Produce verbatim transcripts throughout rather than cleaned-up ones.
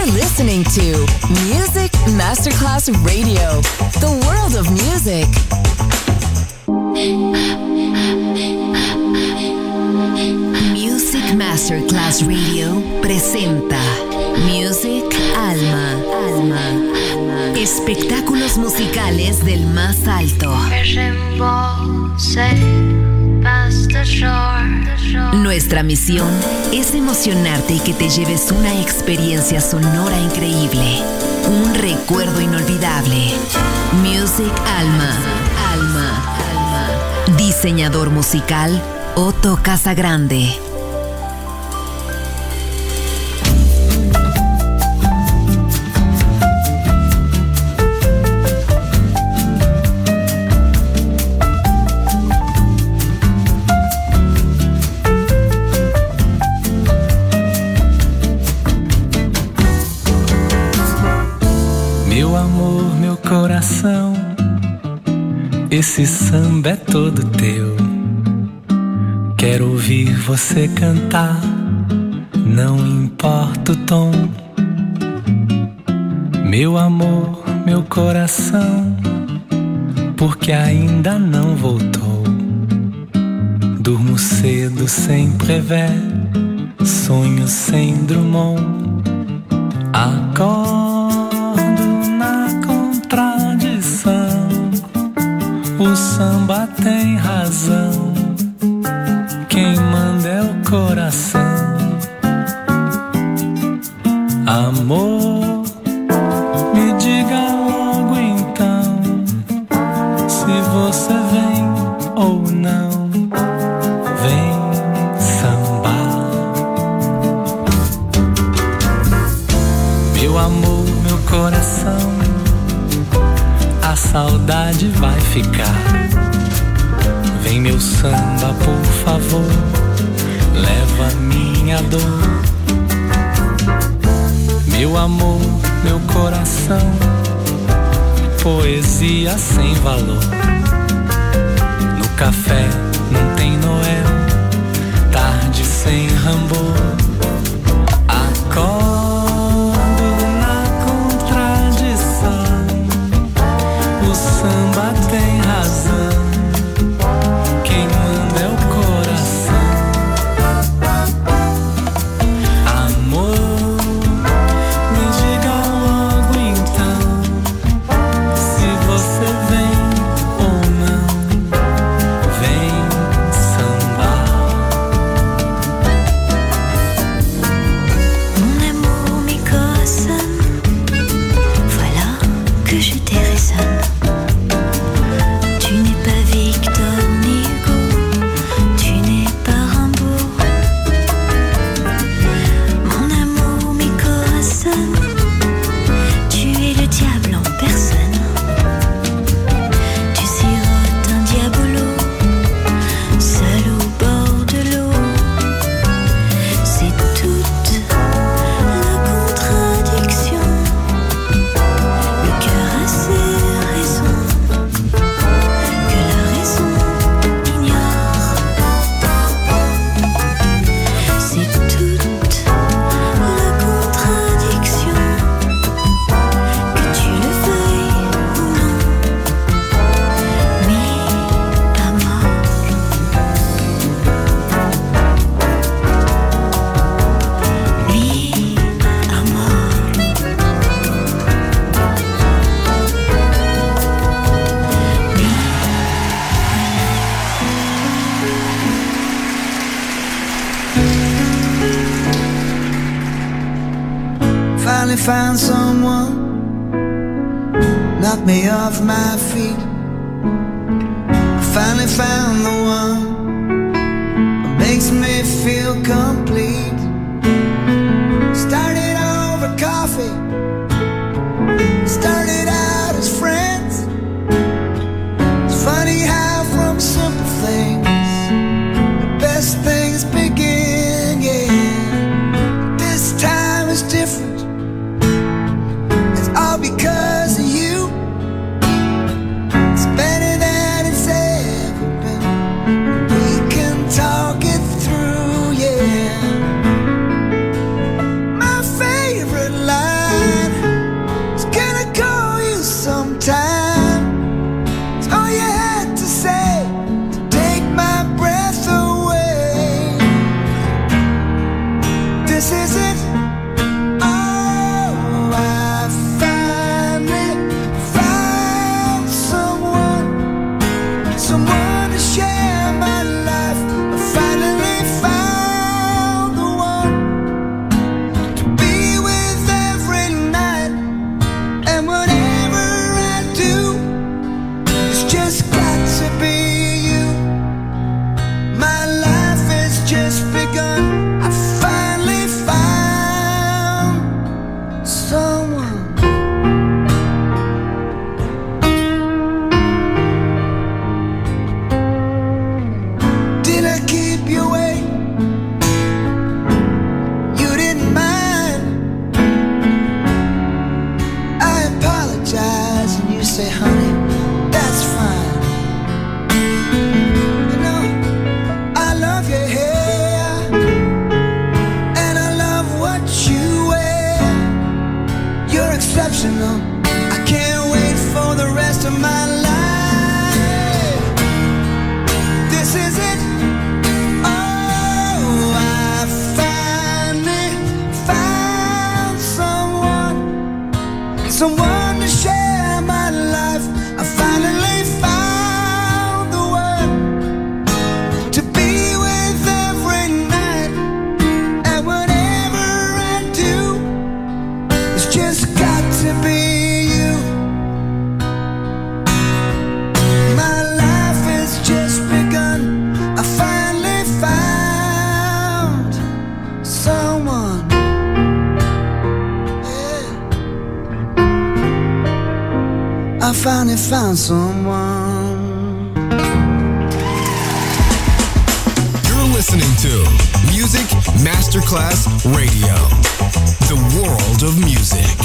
You're listening to Music Masterclass Radio, the world of music. Music Masterclass Radio presenta Music Alma. Alma. Espectáculos musicales del más alto. Nuestra misión es emocionarte y que te lleves una experiencia sonora increíble, un recuerdo inolvidable. Music Alma. Alma. Alma. Diseñador musical Otto Casagrande. Coração, esse samba é todo teu. Quero ouvir você cantar, não importa o tom. Meu amor, meu coração, porque ainda não voltou. Durmo cedo sem prever, sonho sem Drummond. Acordo o samba tem razão, quem manda é o coração. Amor, me diga logo então, se você vem ou não. Vem sambar. Meu amor, meu coração, a saudade vai ficar. Vem meu samba, por favor, leva minha dor. Meu amor, meu coração, poesia sem valor. No café não tem Noel, tarde sem Rambo. Acorda samba tem razão, quem manda é o coração. Amor, me diga logo então, se você vem ou não. Vem sambar. Mon amour, mes coraçons, voilà que je te résonne. Found someone, knocked me off my feet. I finally found the one that makes me feel complete. Started over coffee, started out as friends. It's funny how from simple things the best things begin, yeah. This time is different, all because of you. It's better than it's ever been. We can talk it through, yeah. emotional. I can't wait for the rest of my life. This is it. Oh, I finally found someone, someone to share my life. I finally found the one to be with every night. And whatever I do, it's just got to be you. My life has just begun. I finally found someone. Yeah. I finally found someone. You're listening to Music Masterclass Radio, the world of music.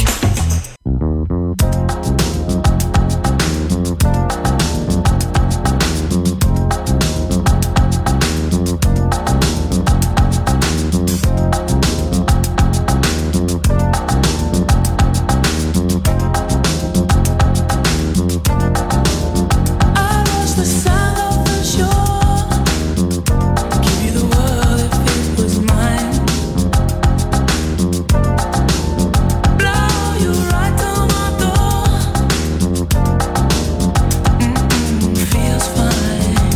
I was the sound of the shore. Give you the world if it was mine. Blow you right to my door. Mm-mm, feels fine.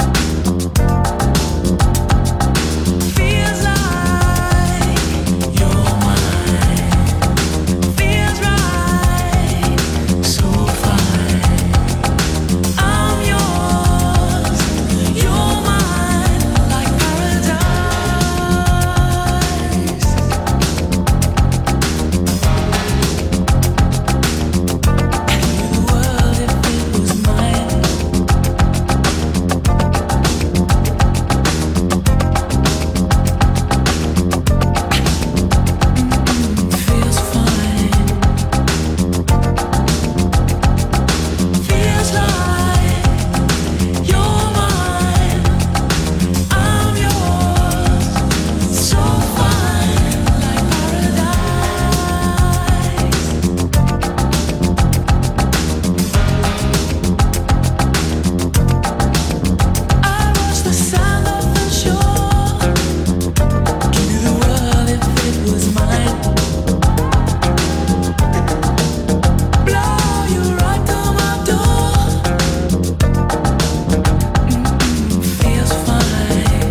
Feels like you're mine. Feels right, so fine. I'm yours, you're mine, like paradise. Give you the world if it was mine. Feels fine. Feels like you're mine. I'm yours, so fine, like paradise. I was the sound of the shore. Give you the world if it was mine. Blow you right to my door. Mm-mm, feels fine.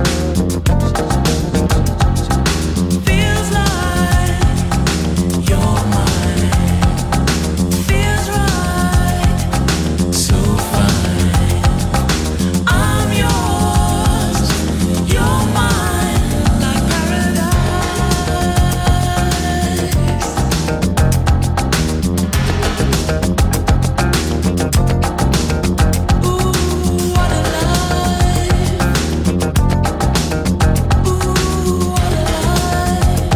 Feels like you're mine. Feels right, so fine. I'm yours, you're mine, like paradise. Ooh, what a life. Ooh, what a life.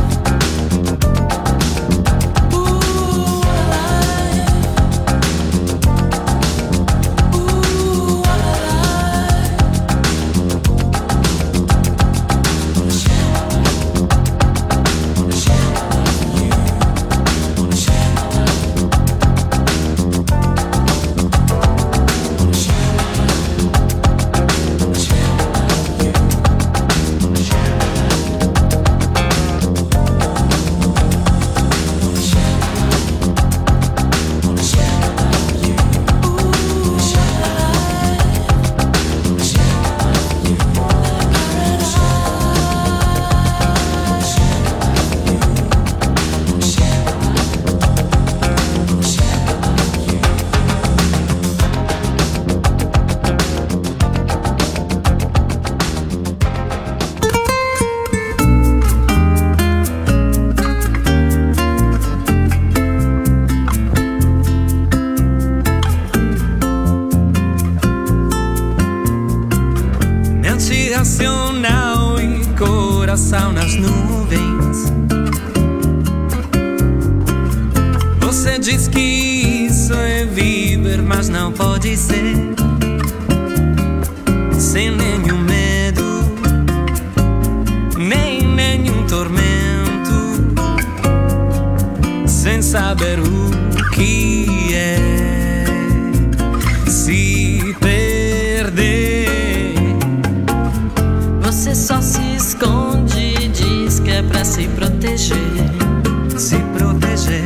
Ooh, what a life. Ooh, what a Minha ansiacional e coração nas nuvens. Você diz que isso é viver, mas não pode ser. Sem nenhum medo, nem nenhum tormento. Sem saber o que é se perder. Você só se esconde e diz que é pra se proteger. Se proteger.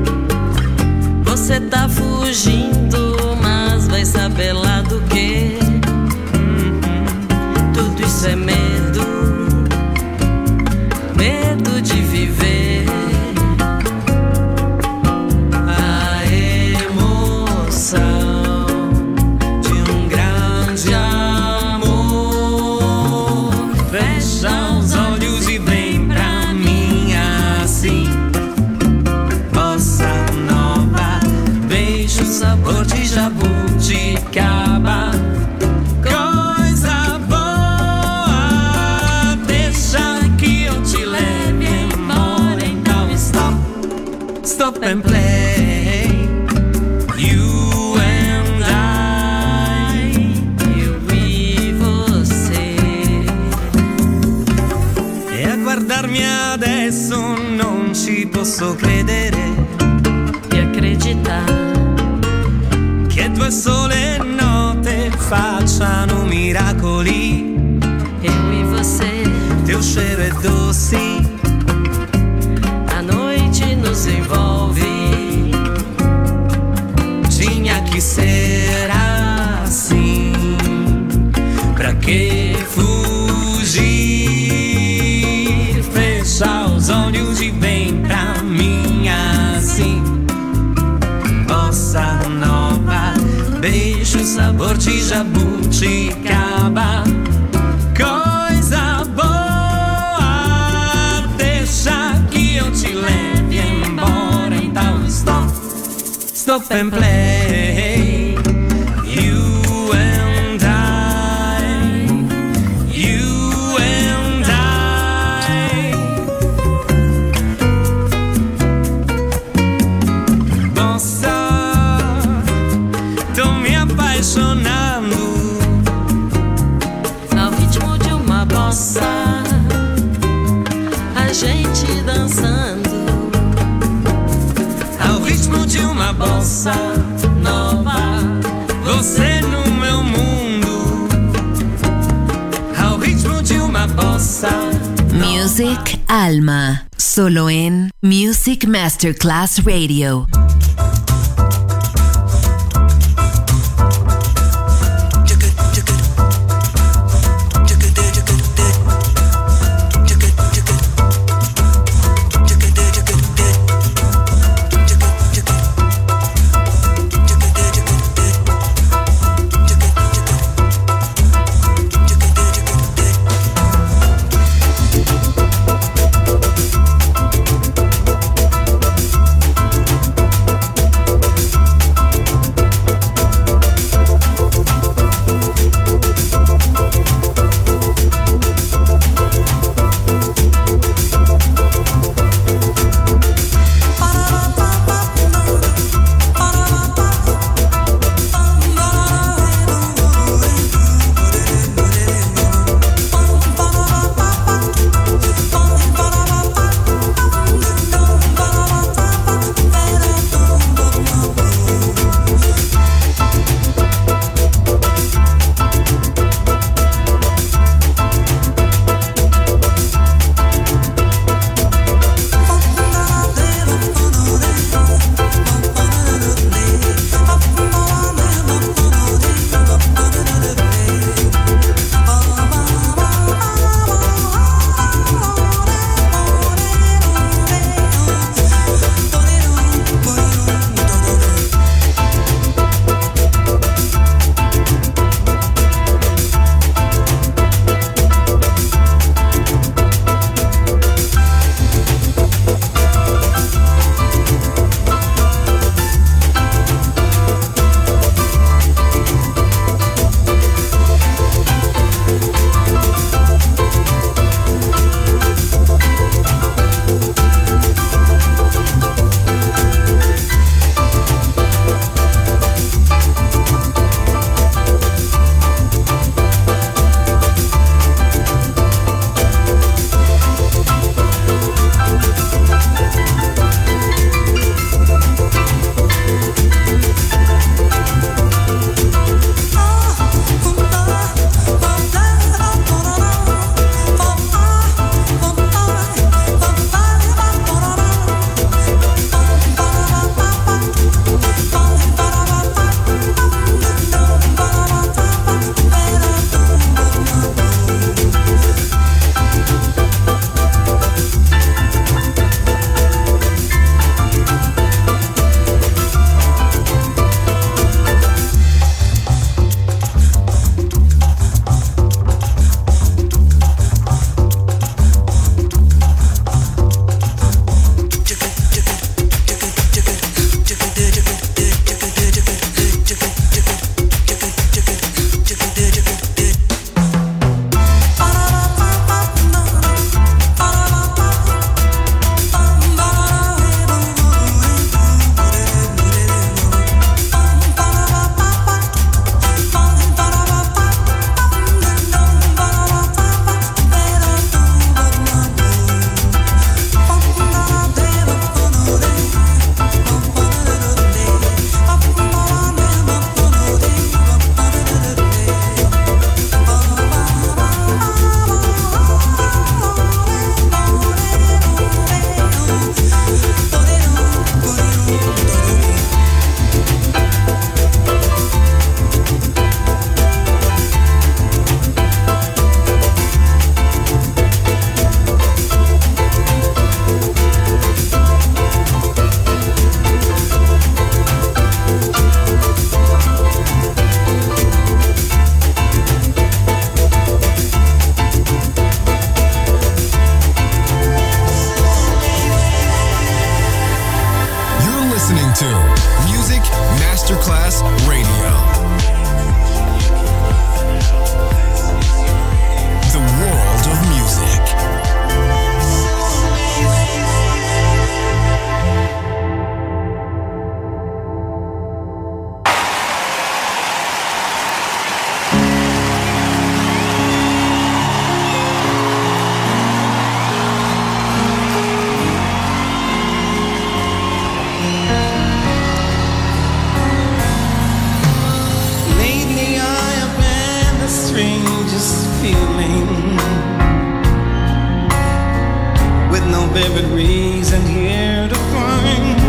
Você tá fugindo, mas vai saber lá do que. Tudo isso é medo, medo de viver. A emoção de um grande amor. Fecha os olhos e vem pra mim assim. Bossa nova, beijo, sabor de jabuticaba. Coisa boa, deixa que eu te leve embora. Então stop, stop and play. You and I, eu e você. E a guardarmi adesso non ci posso credere. E acreditar che due sole note facciano miracoli. eu e você. Teu cheiro é doce, A noite nos envolve. tinha que ser assim. Pra que fugir? Fecha os olhos e vem pra mim assim. Bossa nova, beijo, sabor de jabuticaba. Coisa boa, deixa que eu te leve embora. Então stop, stop and play. You and I, you and I. Bossa, tô me apaixonando Ao ritmo de uma bossa, a gente dançando. ao ritmo de uma bossa nova. Você no meu mundo, ao ritmo de uma bossa. Music Alma, solo en Music Masterclass Radio. listening to Music Masterclass Radio. The world of music. Vivid reason here to find.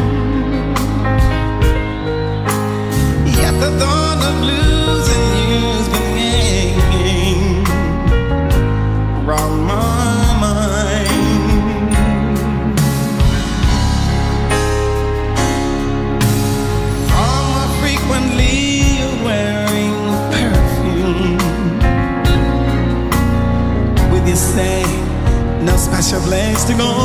Yet the thought of losing you's been hanging around my mind. How more frequently you're wearing perfume. With you say no special place to go.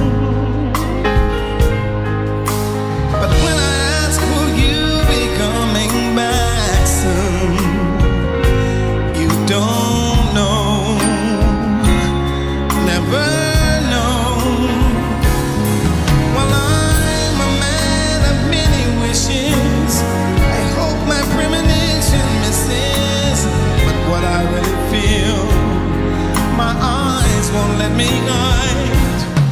But when I ask, will you be coming back soon? You don't know, never know. Well, I'm a man of many wishes. I hope my premonition misses. But what I really feel, my eyes won't let me hide.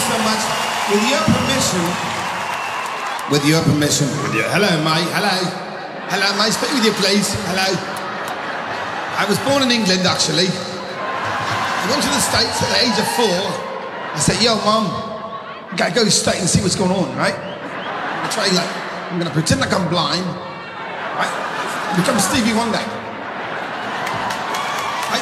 so much. With your permission, with your permission, with your, hello, mate, hello. Hello, mate, speak with you, please. Hello. I was born in England, actually. I went to the States at the age of four. I said, yo, Mom, I gotta go to the States and see what's going on, right? I'm gonna try, like, I'm gonna pretend like I'm blind, right? Become Stevie Wonder. Right?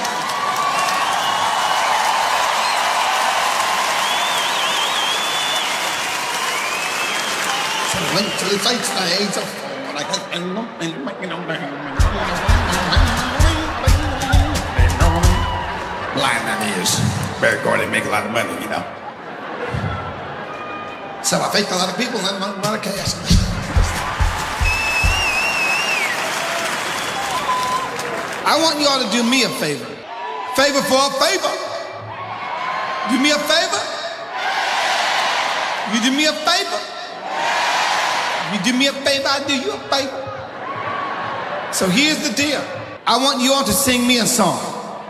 So I went to the States at the age of four. Like, blind that is. Very good, they make a lot of money, you know. So I faked a lot of people and a lot of cash. I want you all to do me a favor. Favor for a favor. Do me a favor. You do me a favor. You do me a favor, I do you a favor. So here's the deal. I want you all to sing me a song.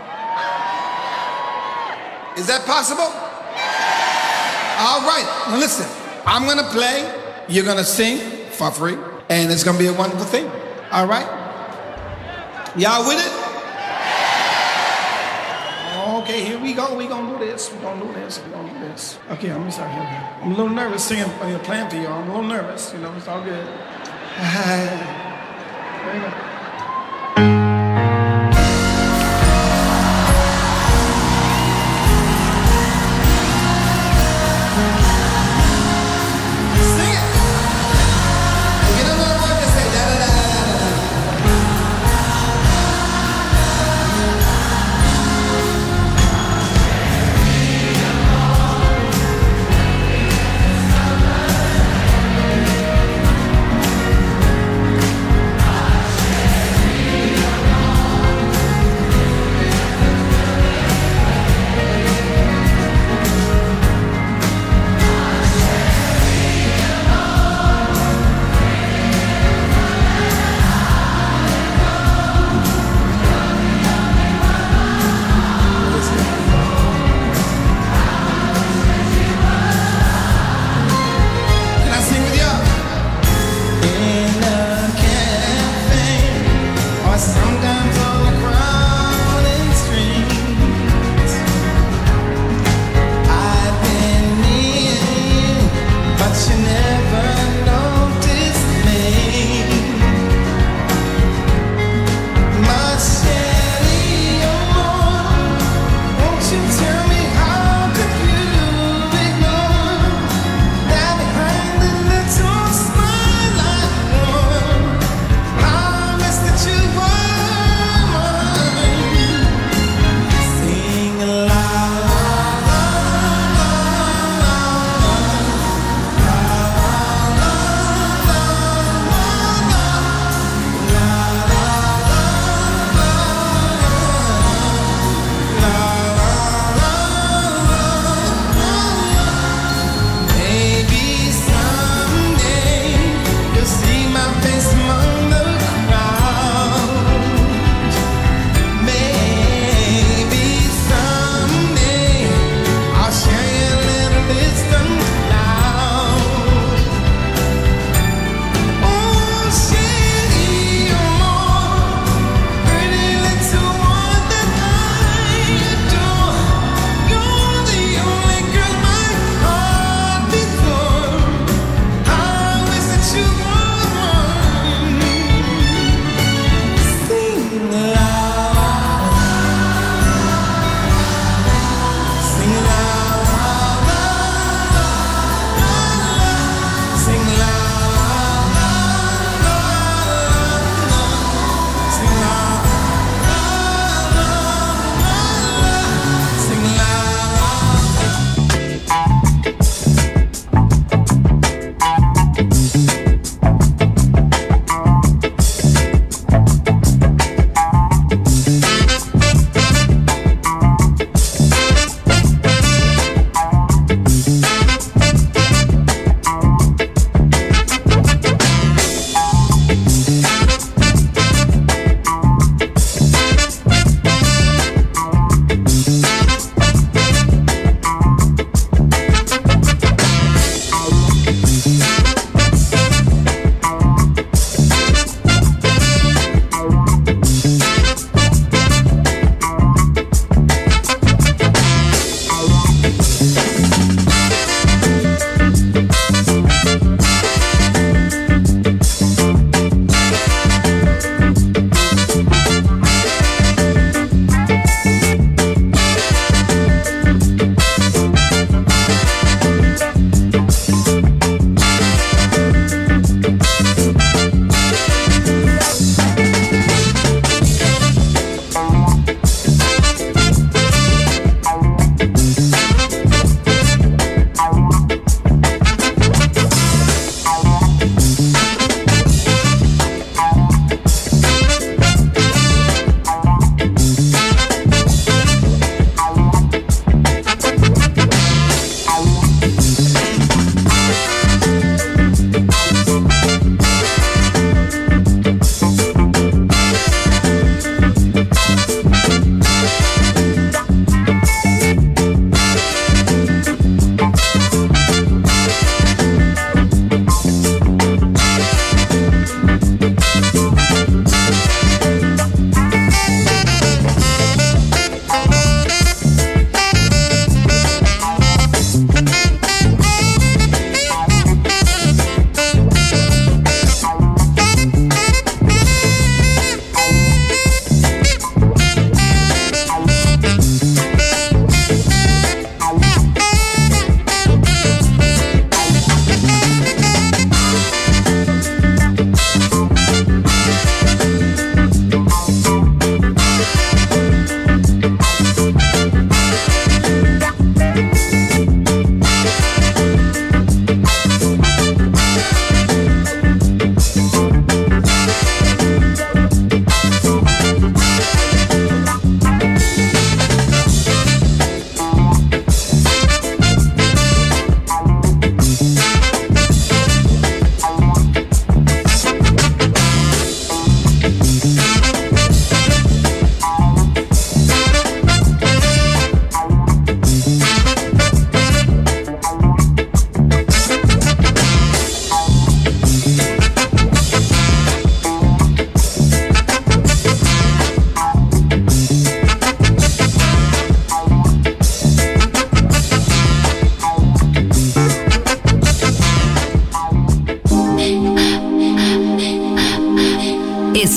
Is that possible? All right, now listen. I'm gonna play, you're gonna sing for free, and it's gonna be a wonderful thing. All right? Y'all with it? Okay, here we go. We gonna do this. We gonna do this. We gonna do this. Okay, I'm sorry. I'm a little nervous singing, you know, playing for you. I'm a little nervous. You know, it's all good. There you go. Thank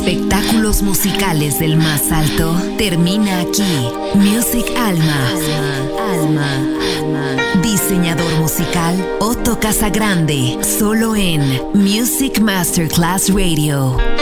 Espectáculos musicales del más alto termina aquí. Music Alma. Alma. Alma. Diseñador musical Otto Casagrande. Solo en Music Masterclass Radio.